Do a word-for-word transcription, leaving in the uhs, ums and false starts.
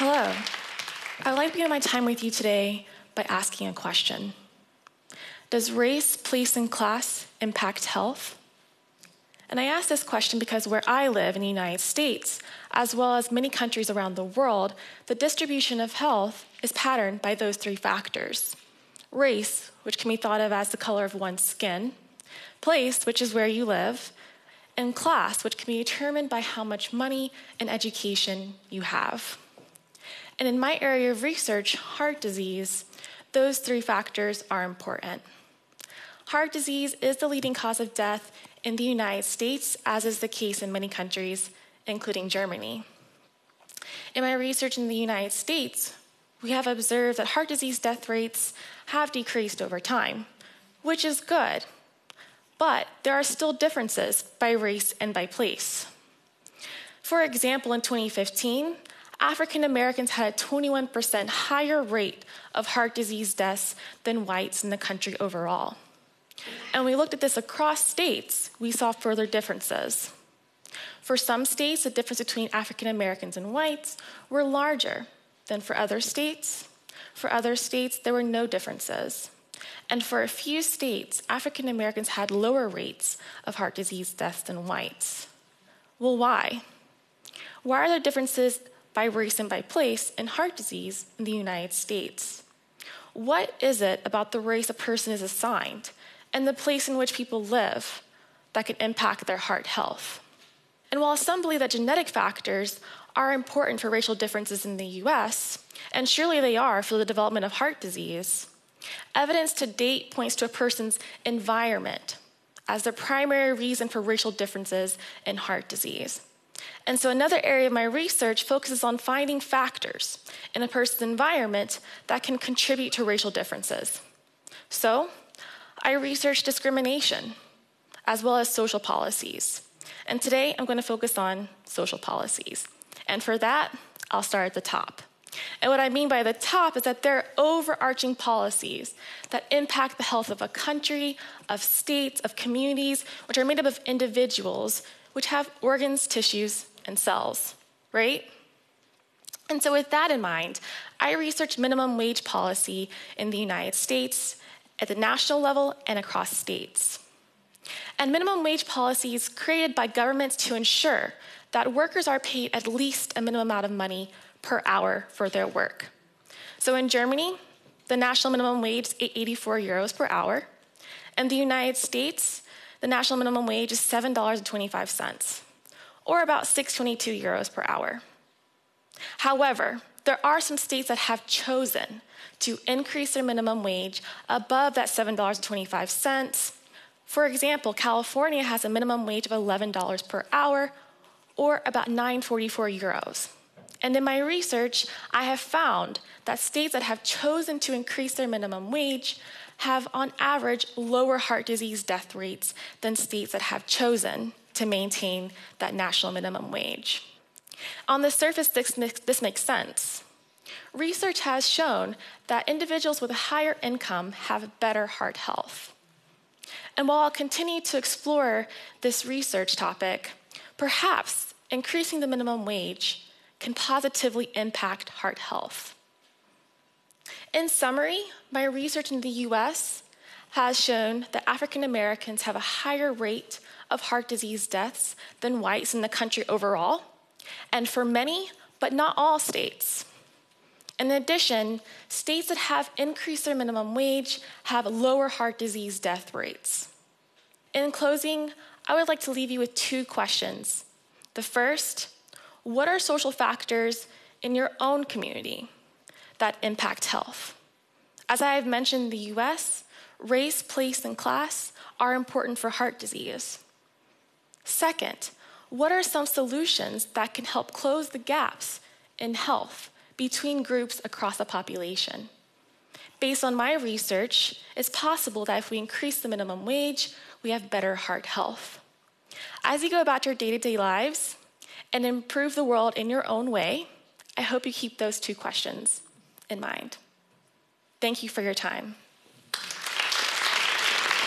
Hello. I'd like to begin my time with you today by asking a question. Does race, place, and class impact health? And I ask this question because where I live in the United States, as well as many countries around the world, the distribution of health is patterned by those three factors. Race, which can be thought of as the color of one's skin, place, which is where you live, and class, which can be determined by how much money and education you have. And in my area of research, heart disease, those three factors are important. Heart disease is the leading cause of death in the United States, as is the case in many countries, including Germany. In my research in the United States, we have observed that heart disease death rates have decreased over time, which is good, but there are still differences by race and by place. For example, in twenty fifteen, African Americans had a twenty-one percent higher rate of heart disease deaths than whites in the country overall. And we looked at this across states, we saw further differences. For some states, the difference between African Americans and whites were larger than for other states. For other states, there were no differences. And for a few states, African Americans had lower rates of heart disease deaths than whites. Well, why? Why are there differences by race and by place in heart disease in the United States? What is it about the race a person is assigned and the place in which people live that can impact their heart health? And while some believe that genetic factors are important for racial differences in the U S, and surely they are for the development of heart disease, evidence to date points to a person's environment as the primary reason for racial differences in heart disease. And so another area of my research focuses on finding factors in a person's environment that can contribute to racial differences. So I researched discrimination as well as social policies. And today I'm going to focus on social policies. And for that, I'll start at the top. And what I mean by the top is that there are overarching policies that impact the health of a country, of states, of communities, which are made up of individuals which have organs, tissues, and cells, right? And so with that in mind, I researched minimum wage policy in the United States at the national level and across states. And minimum wage policy is created by governments to ensure that workers are paid at least a minimum amount of money per hour for their work. So in Germany, the national minimum wage is eighty-four euros per hour. In the United States, the national minimum wage is seven dollars and twenty-five cents, or about six hundred twenty-two euros per hour. However, there are some states that have chosen to increase their minimum wage above that seven dollars and twenty-five cents. For example, California has a minimum wage of eleven dollars per hour, or about nine hundred forty-four euros. And in my research, I have found that states that have chosen to increase their minimum wage have, on average, lower heart disease death rates than states that have chosen to maintain that national minimum wage. On the surface, this, this makes sense. Research has shown that individuals with a higher income have better heart health. And while I'll continue to explore this research topic, perhaps increasing the minimum wage can positively impact heart health. In summary, my research in the U S has shown that African Americans have a higher rate of heart disease deaths than whites in the country overall, and for many, but not all states. In addition, states that have increased their minimum wage have lower heart disease death rates. In closing, I would like to leave you with two questions. The first, what are social factors in your own community that impact health? As I have mentioned in the U S, race, place, and class are important for heart disease. Second, what are some solutions that can help close the gaps in health between groups across a population? Based on my research, it's possible that if we increase the minimum wage, we have better heart health. As you go about your day-to-day lives and improve the world in your own way, I hope you keep those two questions in mind. Thank you for your time.